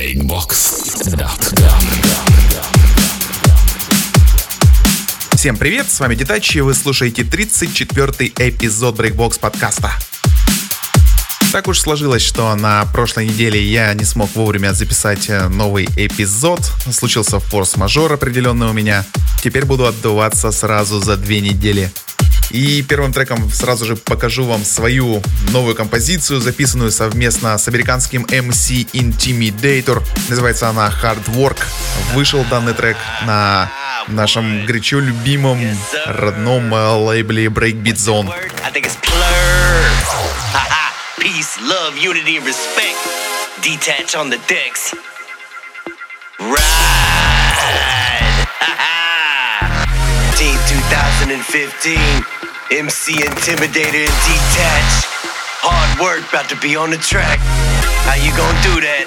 breakbox.com. Всем привет, с вами Детач, и вы слушаете 34-й эпизод Breakbox подкаста. Так уж сложилось, что на прошлой неделе я не смог вовремя записать новый эпизод. Случился форс-мажор определенный у меня. Теперь буду отдуваться сразу за 2 недели. И первым треком сразу же покажу вам свою новую композицию, записанную совместно с американским MC Intimidator. Называется она Hard Work. Вышел данный трек на нашем горячо любимом родном лейбле Breakbeat Zone. Peace, love, unity, and respect. Detach on the decks. Ride. Team 2015. MC Intimidator and Detach. Hard work, about to be on the track. How you gonna do that?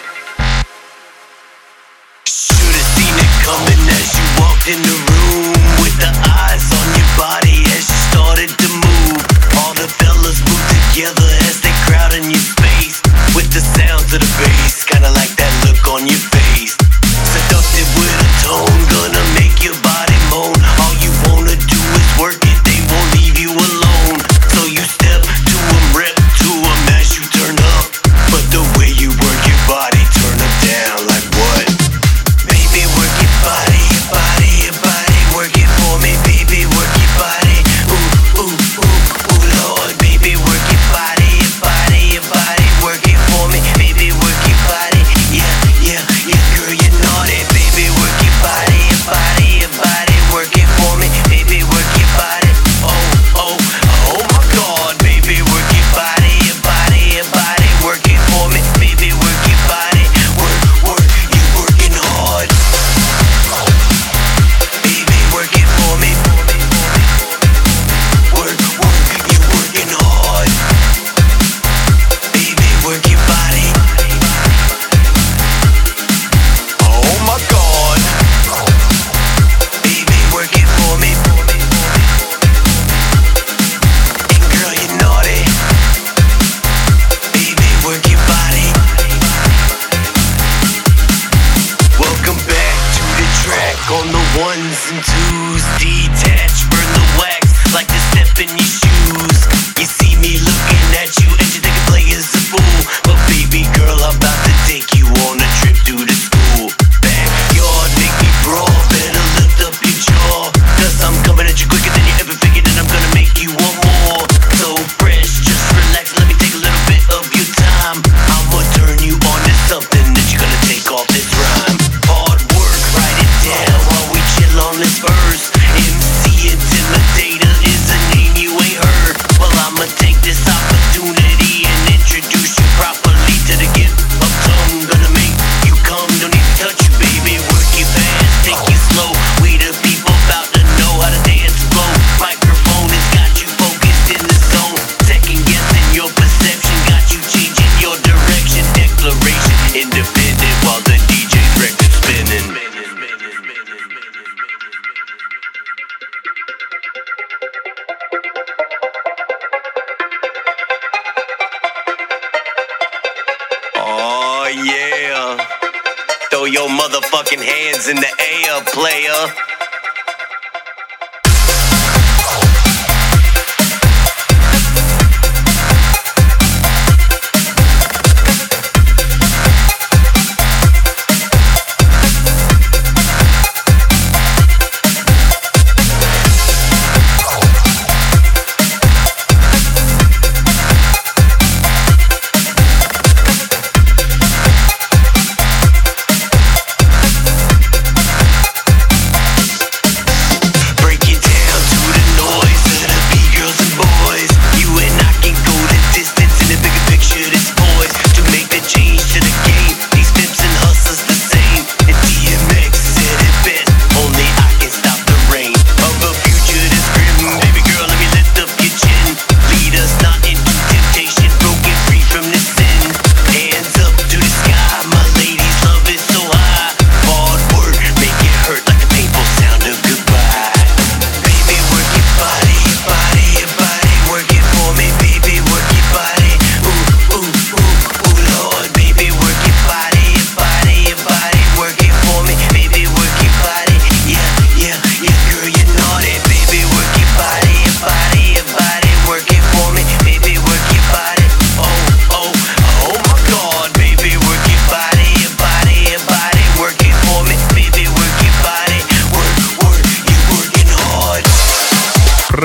Should've seen it coming as you walked in the room. With the eyes on your body as you started to move. All the fellas move together as they crowd in your space. With the sounds of the bass, kinda like that look on your face. Seductive with a tone, gonna make your body moan. All you wanna do is work it, they won't leave you alone. So you step to them, rep to them as you turn up. But the way you work your body, turn them down like what? Baby, work your body, your body, your body. Work it for me, baby, work your body. Ooh, ooh, ooh, ooh, Lord. Baby, work your body, your body, your body. Work it for me, baby, work your body. Yeah, yeah, yeah, girl, you're naughty. Baby, work your body, your body, your body. Work it for me, baby, work your body. Oh, oh, oh my God. Baby, work your body, your body, your body. Work it for me, baby, work your body. Work, work, you working hard. Baby, work it for me. Work, work, you working hard. Baby, work your body. Oh my God. Baby, work it for me. And girl, you're naughty. Baby, work your body. Welcome back to the track on the ones and twos. Detach, burn the wax like the step in your shoes. You see me looking at you and you think a player's a fool. But baby girl, I'm about to take you on a trip to the school. Backyard, make me brawl, better lift up your jaw. Cause I'm coming at you quicker than you ever figured, and I'm gonna make you want more. So fresh, just relax, let me take a little bit of your time. I'ma turn you on to something that you're gonna take off this rhyme. Hard work, write it down while we chill on this verse. MC Intimidator is a name you ain't heard. Well, I'ma take this opportunity and introduce you properly to the gift of tongue. Gonna make you come, don't need to touch you, baby. Work it fast, take it slow. We the people about to know how to dance flow. Microphone has got you focused in the zone. Second guessing your perception, got you changing your direction. Declaration, independent while the DJ's record spinning. Oh yeah. Throw your motherfucking hands in the air, player.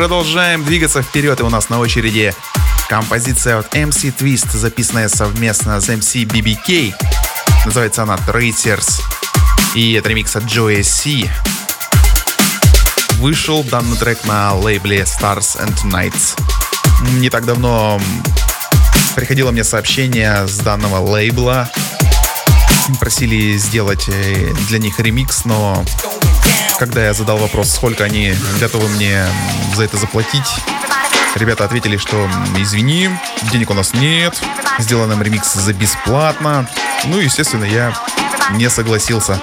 продолжаем двигаться вперед, и у нас на очереди композиция от MC Twist, записанная совместно с MC BBK. Называется она Tracers, и это ремикс от Joey C. Вышел данный трек на лейбле Stars and Nights. Не так давно приходило мне сообщение с данного лейбла. Просили сделать для них ремикс, но когда я задал вопрос, сколько они готовы мне за это заплатить, ребята ответили, что извини, денег у нас нет, сделай нам ремикс за бесплатно. Ну, естественно, я не согласился.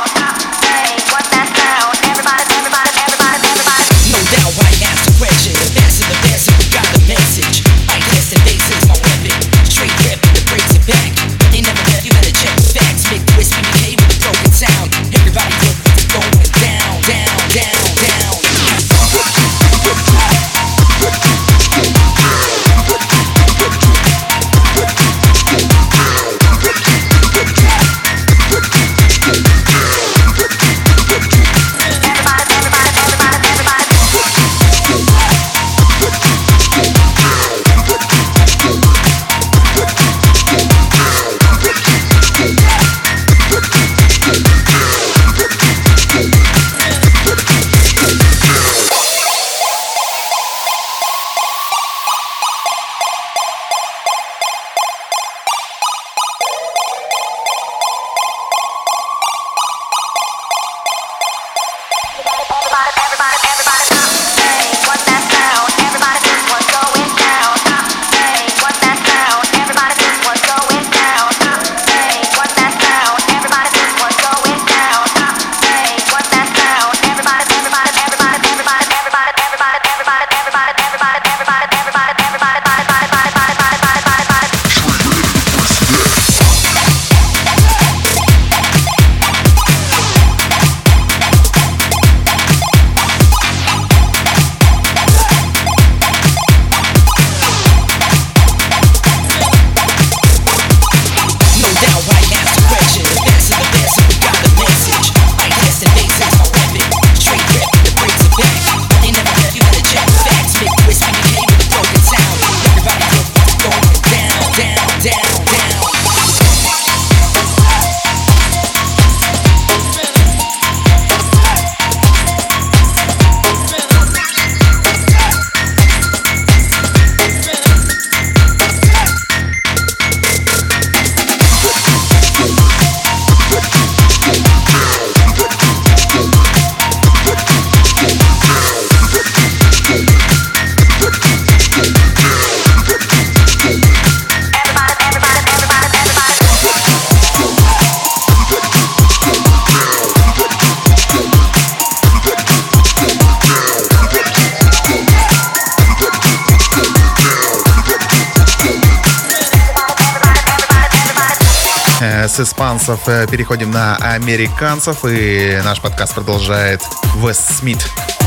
С испанцев переходим на американцев, и наш подкаст продолжает Wes Smith.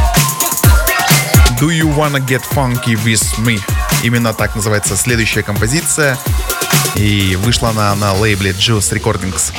Do you wanna get funky with me? Именно так называется следующая композиция, и вышла она на лейбле Juice Recordings.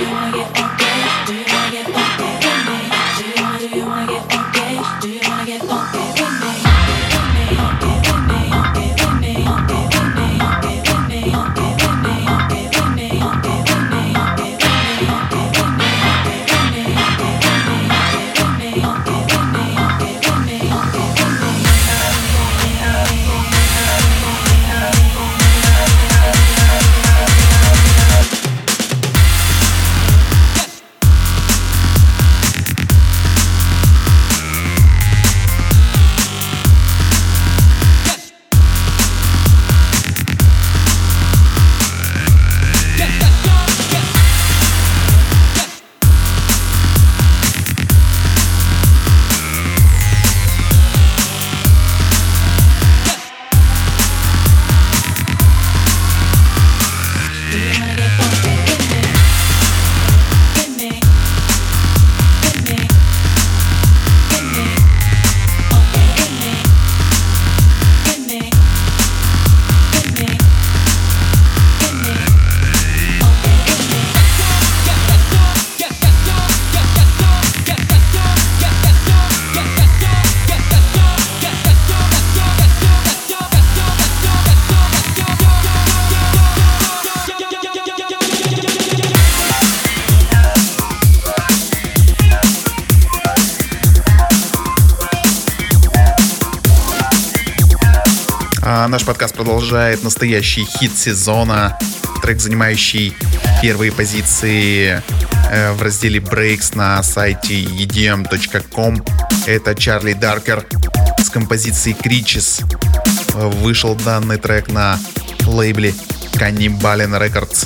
Наш подкаст продолжает настоящий хит сезона. Трек, занимающий первые позиции в разделе Breaks на сайте edm.com. Это Чарли Даркер с композицией Creatures. Вышел данный трек на лейбле Cannibalen Records.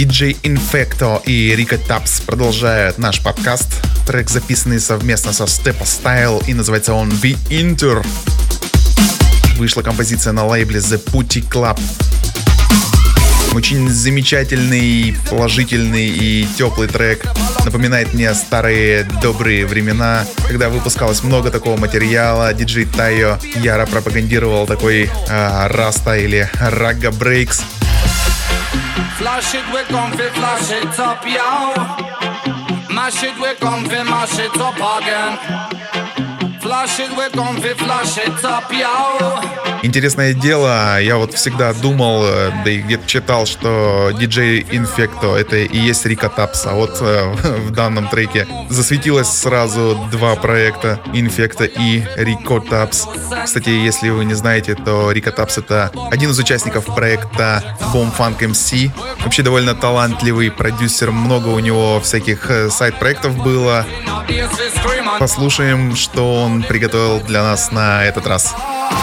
DJ Infecto и Rico Tubbs продолжают наш подкаст. Трек, записанный совместно со Steppa Style, и называется он The Inter. Вышла композиция на лейбле The Putty Club. Очень замечательный, положительный и теплый трек. Напоминает мне старые добрые времена, когда выпускалось много такого материала. Диджей Тайо яро пропагандировал такой раста или рагга брейкс. Flash it, we come fi flash it up, yo. Mash it, we come fi mash it up again. Flash it, we come fi flash it up, yo. Интересное дело, я вот всегда думал, да и где-то читал, что DJ Infecto это и есть Rico Tubbs, а вот в данном треке засветилось сразу два проекта, Infecto и Rico Tubbs. Кстати, если вы не знаете, то Rico Tubbs это один из участников проекта Bomb Funk MC. Вообще довольно талантливый продюсер, много у него всяких сайд-проектов было. Послушаем, что он приготовил для нас на этот раз.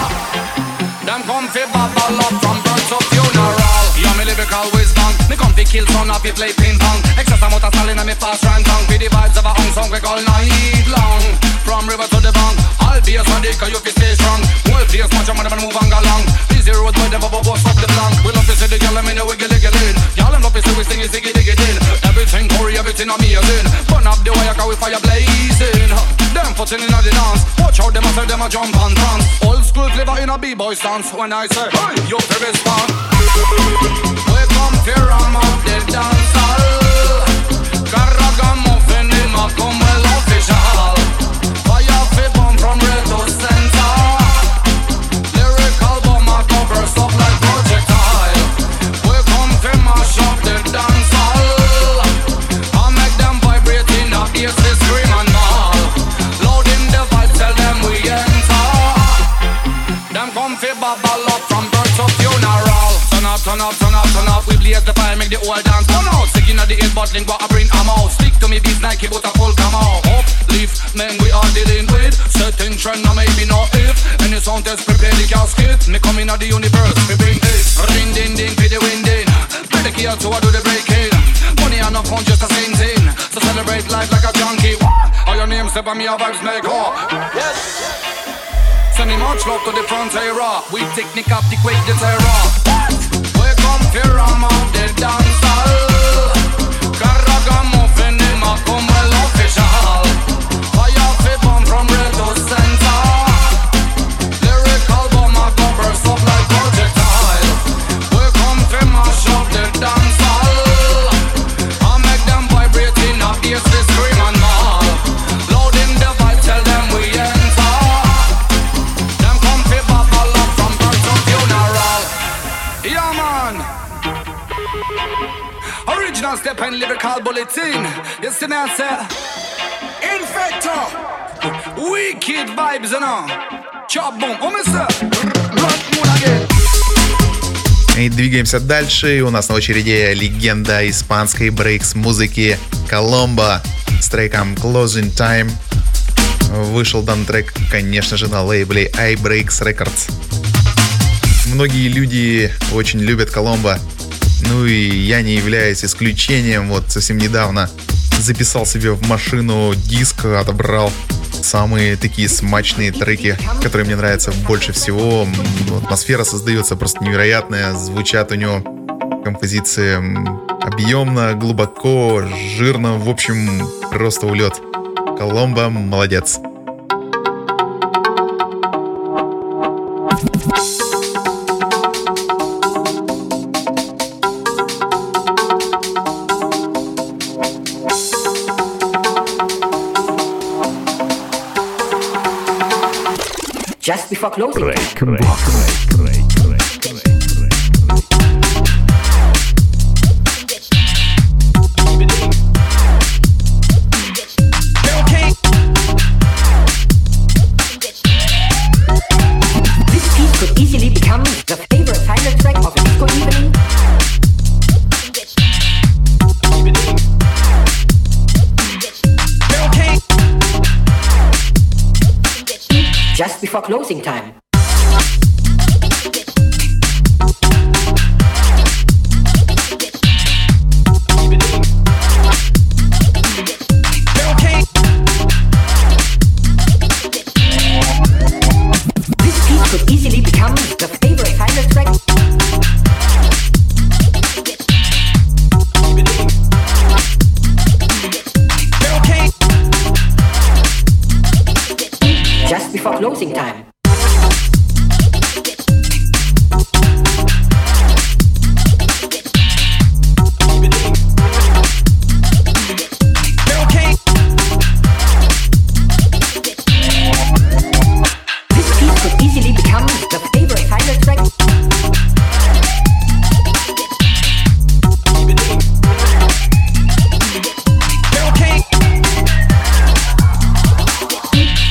Them come fi bubble up from birth to funeral. Yeah, me lyrical wisdom. Me come fi kill son of it play ping pong. Excess amount of style in me fast run tongue. Be the vibes of a hung song we all night long. From river to the bank, I'll be a Sunday 'cause you fi stay strong. Well, please watch 'em and move on along. Busy road boy never bust up the blank. We love to see the girl them in the wiggle in. Y'all them love to see we sing it ziggy diggy din. Everything Corey, everything amazing. Burn up the wire 'cause we fire blazing. Them footing in the dance. Watch how them a say them a jump and dance. Old school flavor in a b-boy stance. When I say, hey, you fi respond. We come fi ram up the dance hall. Carragamuffin him a come well official. Fire fi bomb from red to center. Lyrical bomb a go burst up like projectile. We come fi mash up the dance hall. I make them vibrate in a bass, they scream and all. Loud in the vibe, tell them we enter. Them come fi bubble up from birth to funeral. Turn up, turn up, turn up, turn up. We blaze the fire, make the whole dance burn out. Sick inna the ear, bottling what I bring am out. Stick to me beats, Nike, but a full come out. Uplift, man, we are dealing with certain trend, now maybe not if. Any sound test, prepare the casket. Me come inna the universe, we bring it. Ring, ding, ding, for the wind in. Play the key out so I do the breaking. Money and no fun, just the same thing. So celebrate life like a junkie. All your names, step on me, our vibes make up. Yes. Sending much love to the front era. We technique up the quick the terror. We come fi ram out the dance hall. Carragamuffin him a come well official. Fire fi bomb from red to center. Lyrical bomb a go burst up like projectile. We come fi mash up the dance hall. I make them vibrate in a bass, they scream and all. Loud in the vibe, tell them we enter. Yeah, man. Original step and lyrical bulletin. You see me, I say Infecto. Wicked vibes, you know. Chop boom. Oh, mister. Run moon again. И двигаемся дальше. У нас на очереди легенда испанской брейкс-музыки Коломбо с треком Closing Time. Вышел данный трек, конечно же, на лейбле iBreaks Records. Многие люди очень любят Коломбо, ну и я не являюсь исключением. Вот совсем недавно записал себе в машину диск, отобрал самые такие смачные треки, которые мне нравятся больше всего. Атмосфера создается просто невероятная, звучат у него композиции объемно, глубоко, жирно, в общем, просто улет. Коломбо молодец. Just before closing. This piece could easily become the favorite final track of a disco evening. Just before closing time.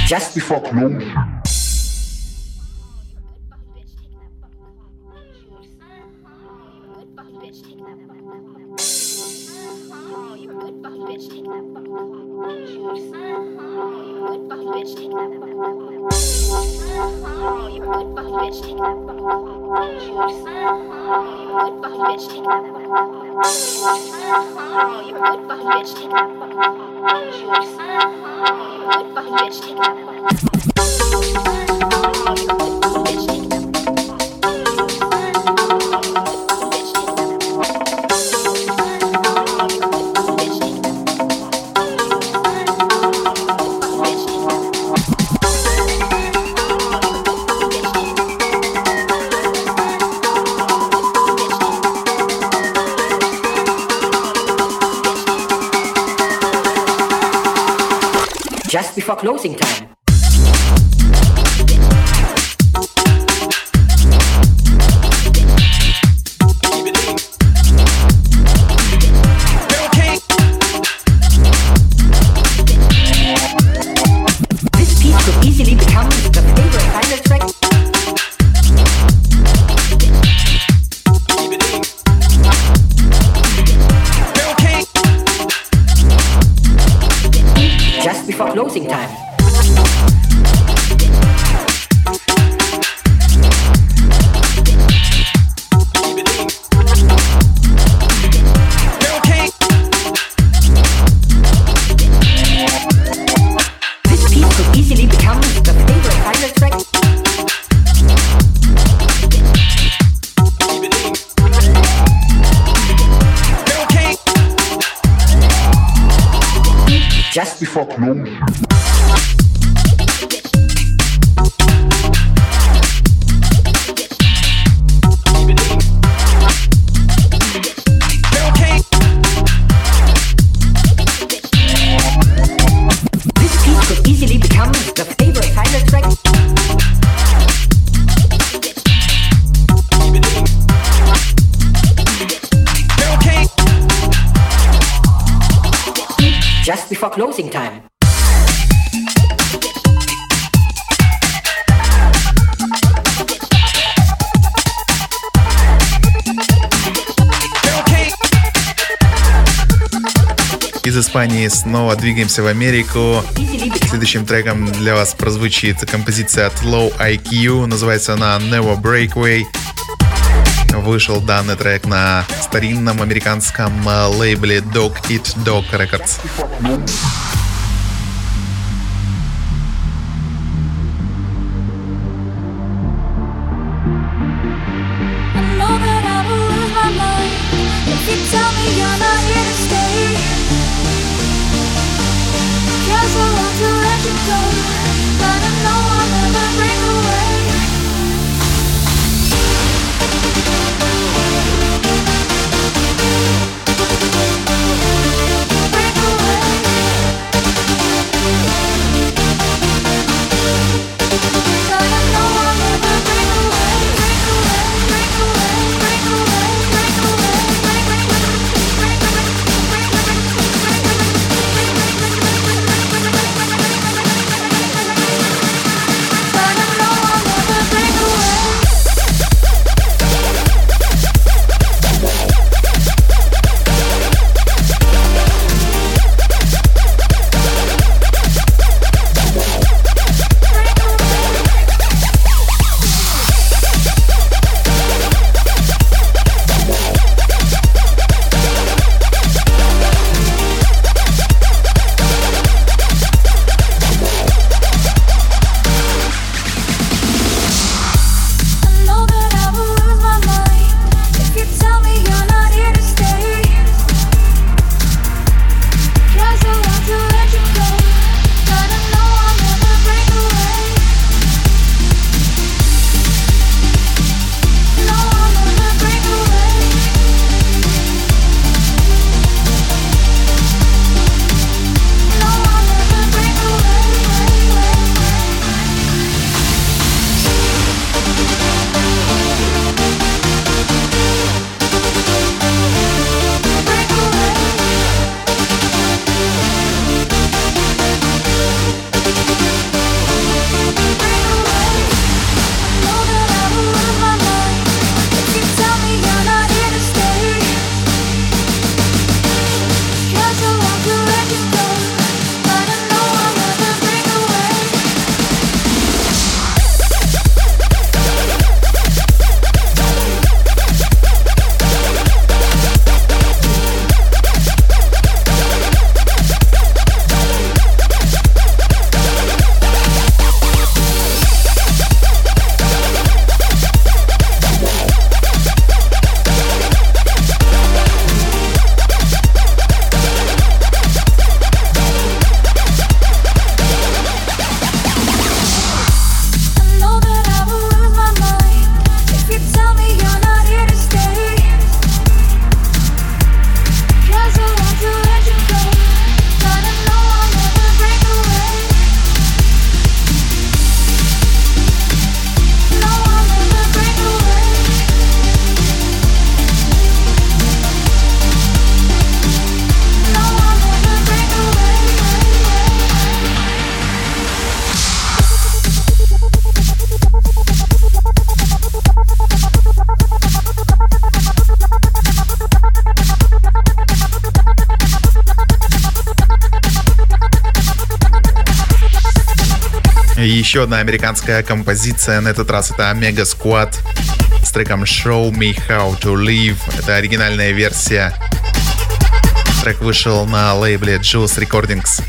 Just before closing. Just before closing time. This piece could easily become the favorite final track. Just before closing time. This piece could easily become the favorite final track. Just before closing. This piece could easily become the favorite final track. Just before closing time. Из Испании снова двигаемся в Америку. Следующим треком для вас прозвучит композиция от Low IQ. Называется она Never Breakaway. Вышел данный трек на старинном американском лейбле Dog Eat Dog Records. Еще одна американская композиция, на этот раз это Omega Squad с треком Show Me How To Live. Это оригинальная версия. Трек вышел на лейбле Juice Recordings.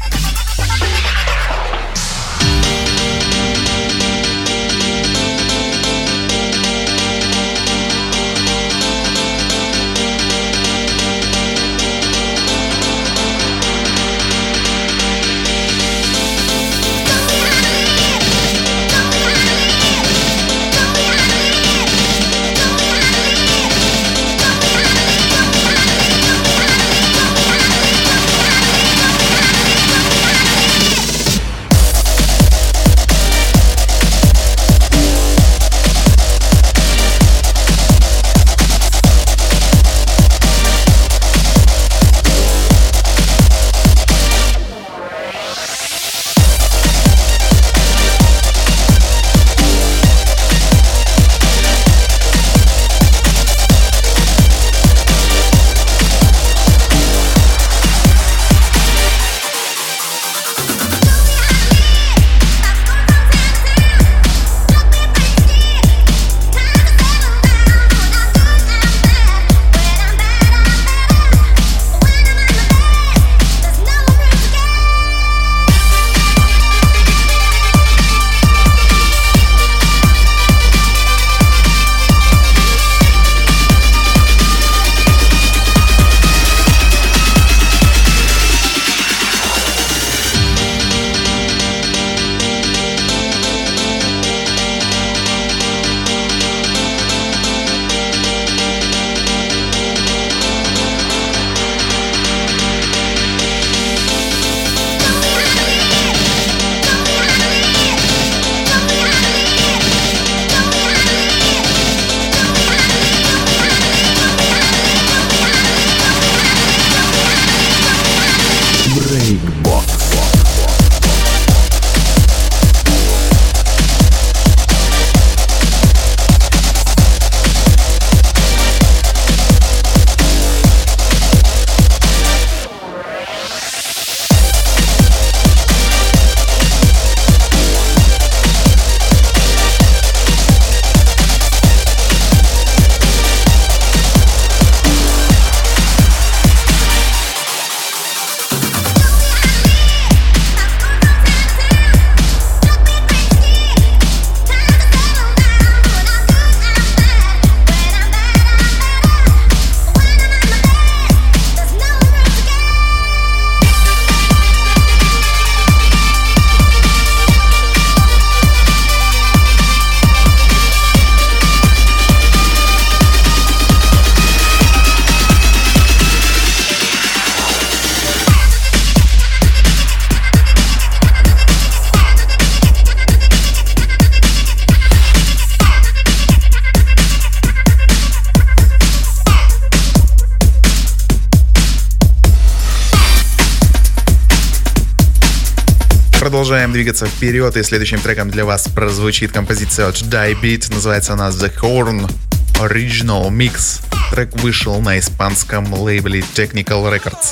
Продолжаем двигаться вперед, и следующим треком для вас прозвучит композиция от Die Beat. Называется она The Horn Original Mix. Трек вышел на испанском лейбле Technical Records.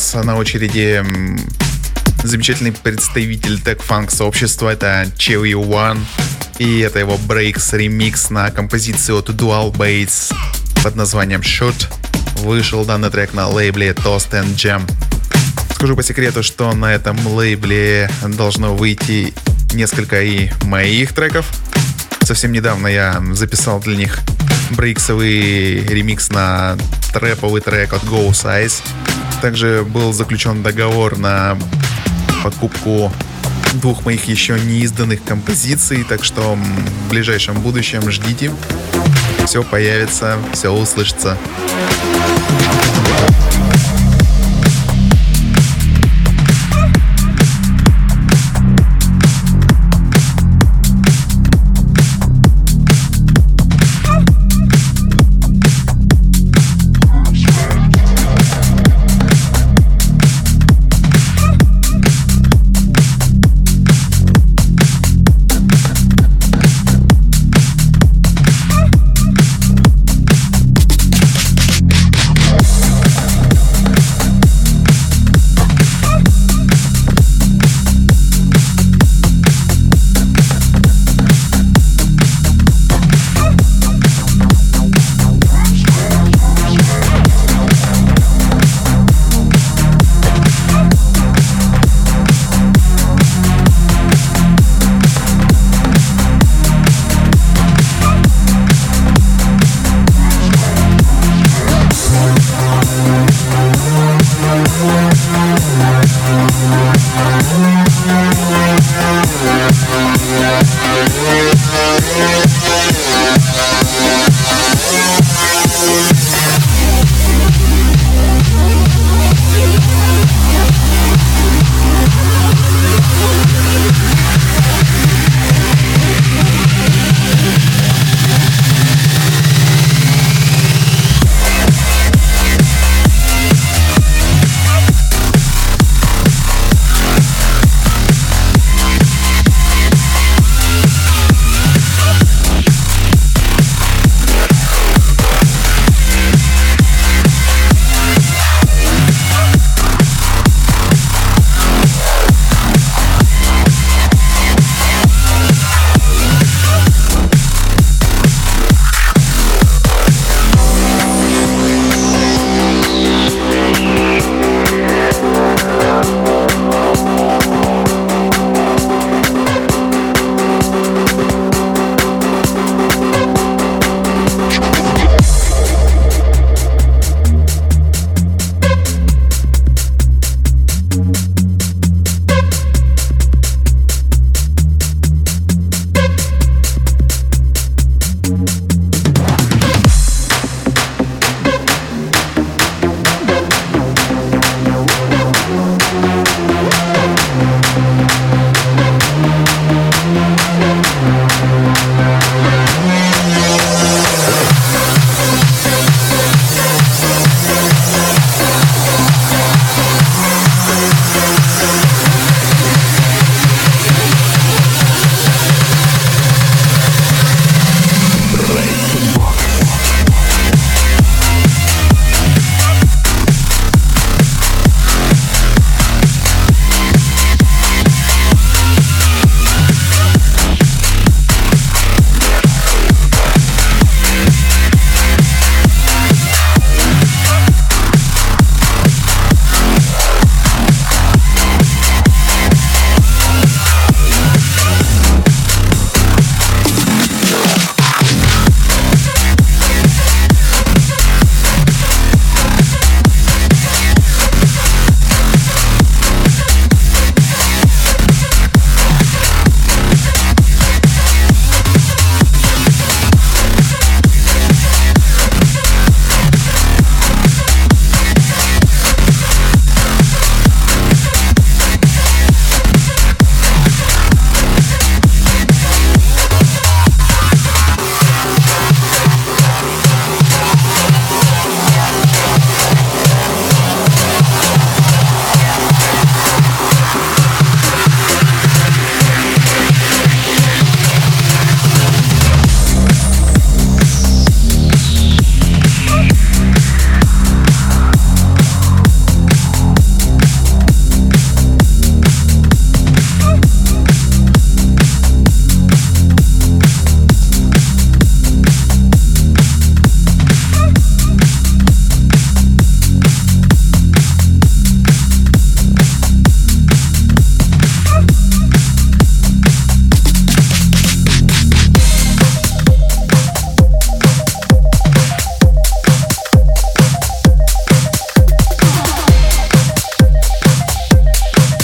сейчас на очереди замечательный представитель тег-фанк сообщества, это Chewy One, и это его Breaks ремикс на композицию от Dual Bass под названием Shoot. Вышел данный трек на лейбле Toast and Jam. Скажу по секрету, что на этом лейбле должно выйти несколько и моих треков. Совсем недавно я записал для них брейксовый ремикс на трэповый трек от Go Size. Также был заключен договор на покупку 2 моих еще не изданных композиций, так что в ближайшем будущем ждите. Все появится, все услышится.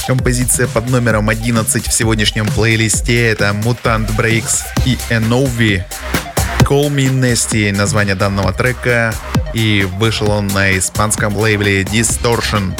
Композиция под номером 11 в сегодняшнем плейлисте — это Mutant Breaks и Enovi. Call Me Nasty — название данного трека, и вышел он на испанском лейбле Distortion.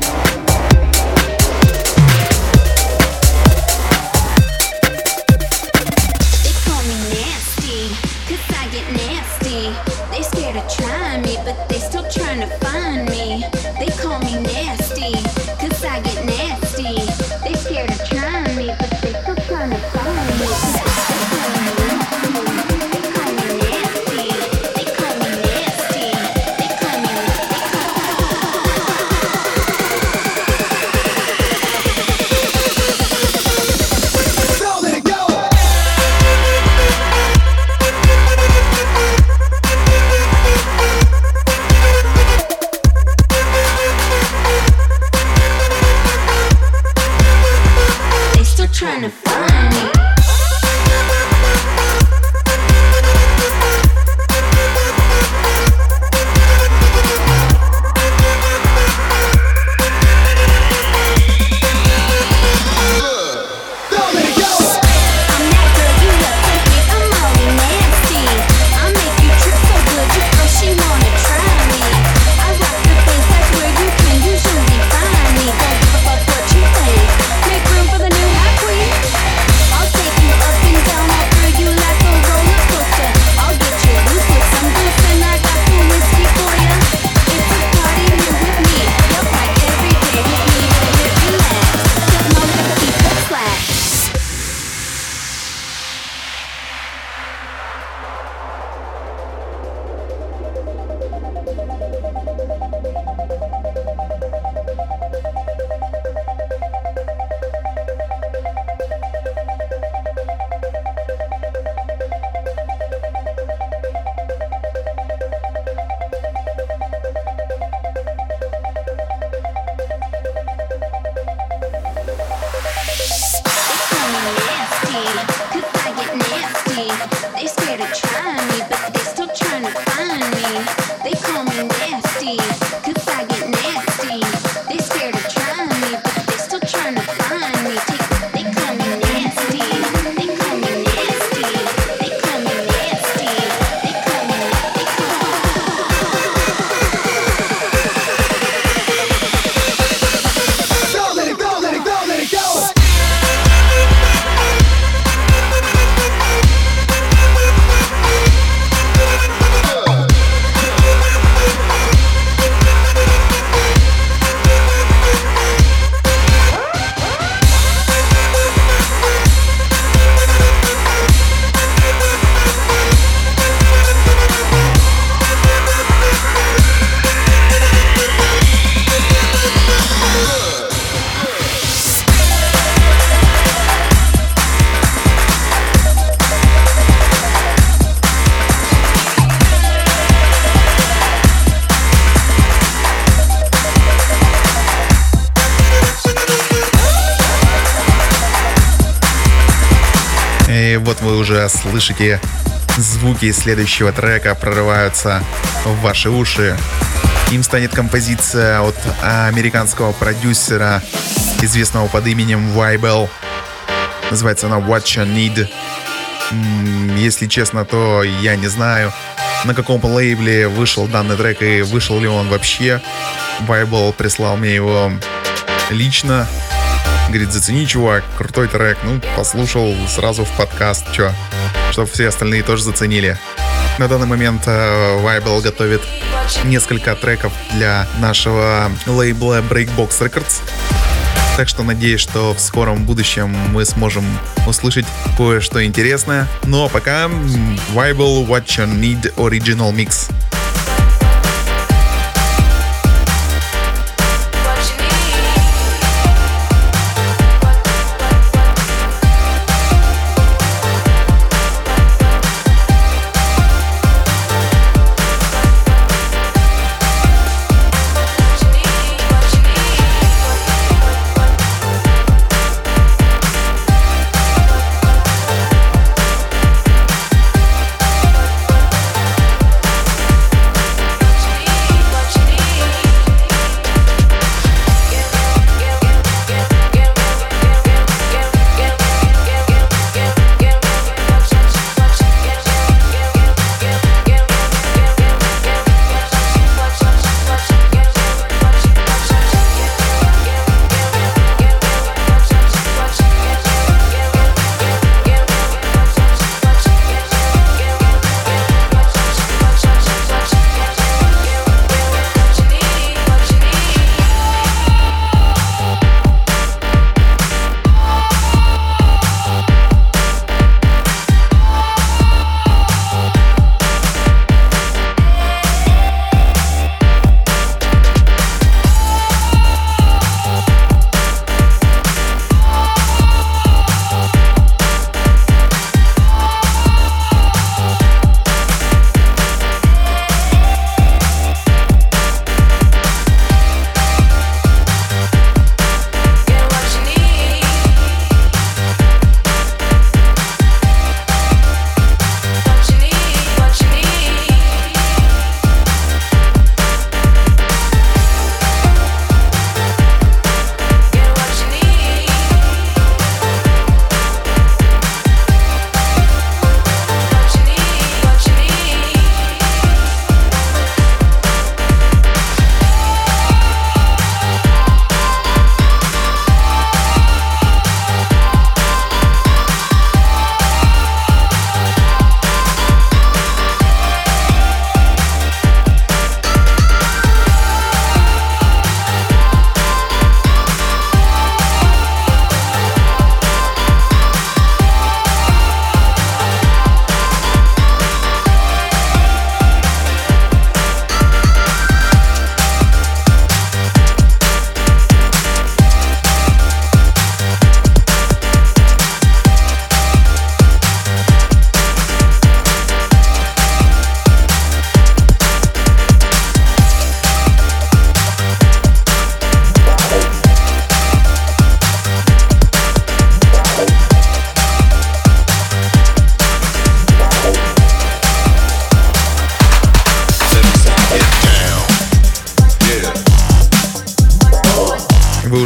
И вот вы уже слышите, звуки следующего трека прорываются в ваши уши. Им станет композиция от американского продюсера, известного под именем Vibel. Называется она What You Need. Если честно, то я не знаю, на каком лейбле вышел данный трек и вышел ли он вообще. Vibel прислал мне его лично. Говорит, зацени, чувак, крутой трек. Ну, послушал сразу в подкаст, чтобы все остальные тоже заценили. На данный момент Vibel готовит несколько треков для нашего лейбла Breakbox Records. Так что надеюсь, что в скором будущем мы сможем услышать кое-что интересное. Ну а пока Vibel What You Need Original Mix.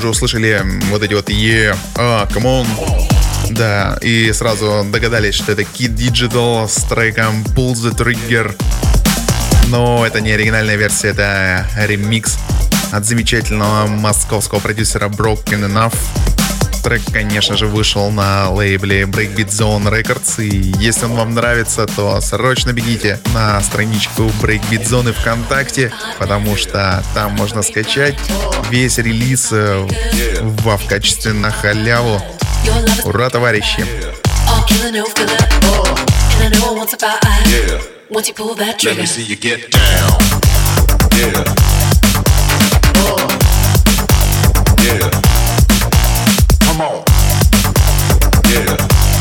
уже услышали вот эти вот come on. Да, и сразу догадались, что это Kid Digital с треком Pull the Trigger. Но это не оригинальная версия, это ремикс от замечательного московского продюсера Broken Enough. Трек, конечно же, вышел на лейбле Breakbeat Zone Records, и если он вам нравится, то срочно бегите на страничку Breakbeat Zone ВКонтакте, потому что там можно скачать весь релиз в качестве на халяву. Ура, товарищи! Come on. Yeah.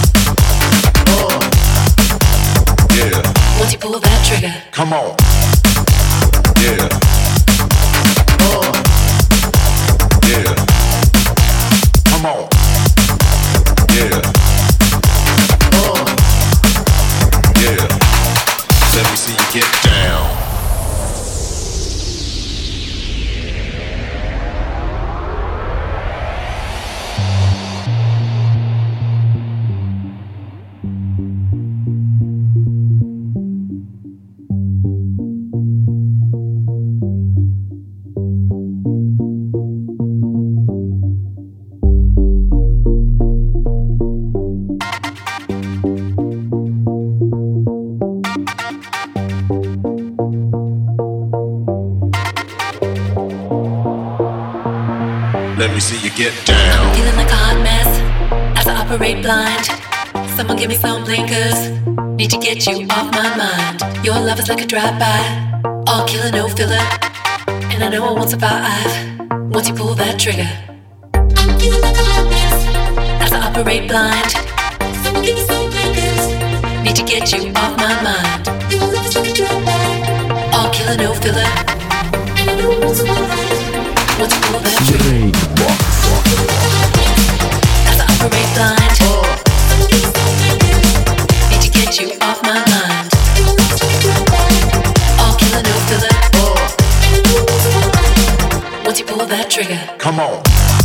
Yeah. Once you pull that trigger. Come on. Yeah. Yeah. Come on. Yeah. Yeah. Let me see you get down. Let me see you get down. I'm feeling like a hot mess as I operate blind. Someone give me some blinkers. Need to get you off my mind. Your love is like a drive-by, all killer, no filler. And I know I won't survive once you pull that trigger. I'm feeling like a hot mess as I operate blind. Someone give me some blinkers. Need to get you off my mind. Your love is like a drive-by, all killer, no filler. And I know I won't survive. Once you pull that trigger. As I operate blind, need to get you off my mind. All killer, no filler. Once you pull that trigger. Come on.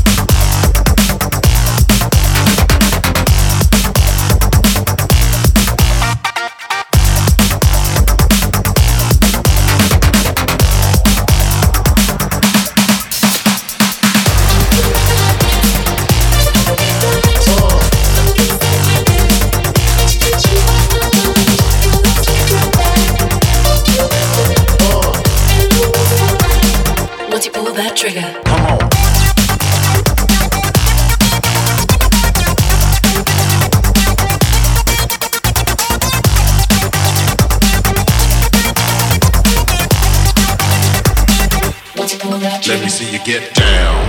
That trigger. Come on. Let me see you get down.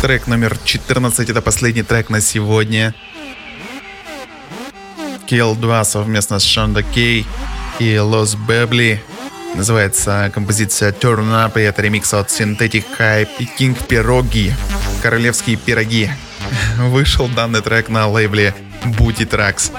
Трек номер 14, это последний трек на сегодня. KL2 совместно с Шонда Кей и Лос Бебли. Называется композиция Turn Up, и это ремикс от Synthetic Hype и King Пироги. Королевские пироги. Вышел данный трек на лейбле Booty Tracks.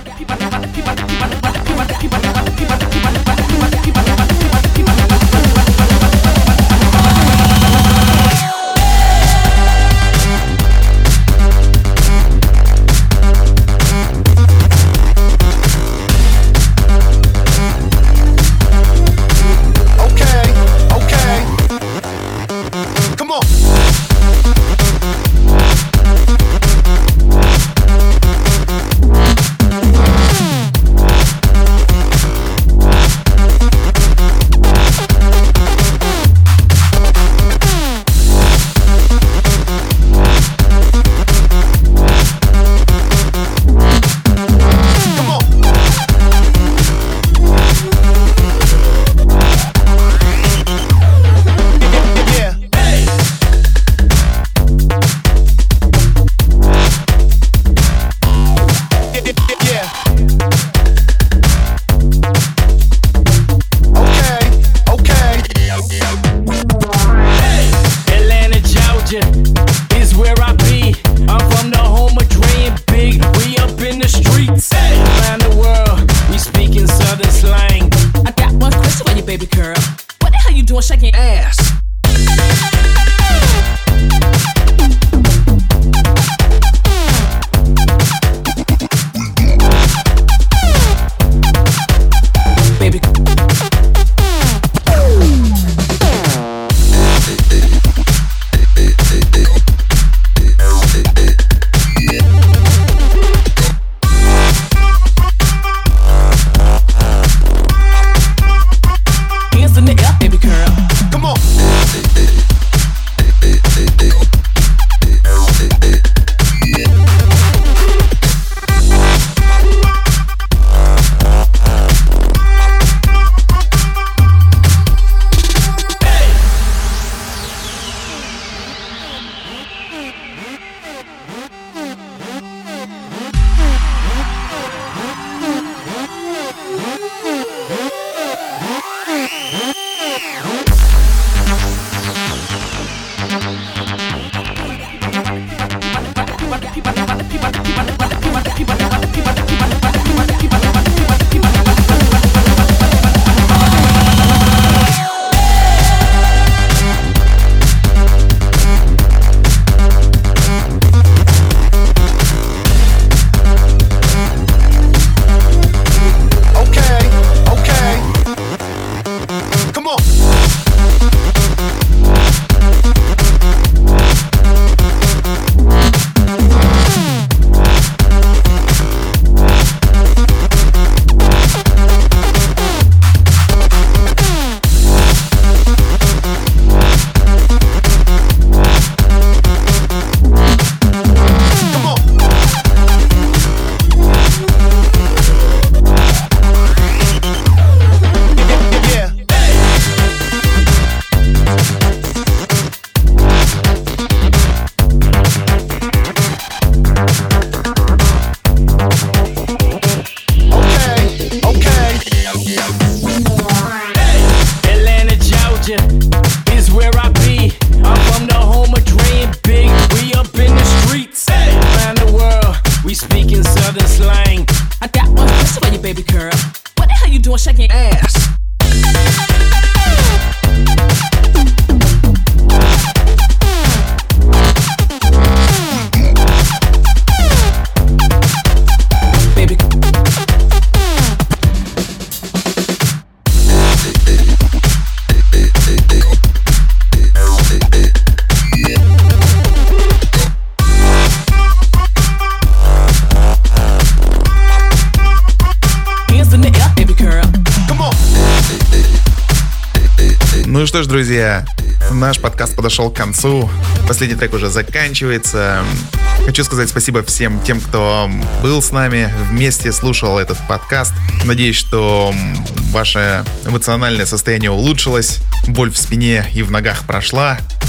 Ну что ж, друзья, наш подкаст подошел к концу. Последний трек уже заканчивается. Хочу сказать спасибо всем тем, кто был с нами, вместе слушал этот подкаст. Надеюсь, что ваше эмоциональное состояние улучшилось, боль в спине и в ногах прошла.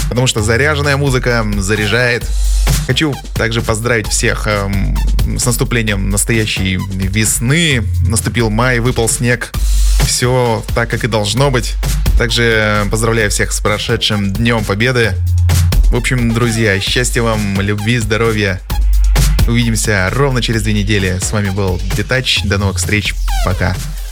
потому что заряженная музыка заряжает. Хочу также поздравить всех с наступлением настоящей весны. Наступил май, выпал снег. Все так, как и должно быть. Также поздравляю всех с прошедшим Днем Победы. В общем, друзья, счастья вам, любви, здоровья. Увидимся ровно через 2 недели. С вами был Детач. До новых встреч. Пока.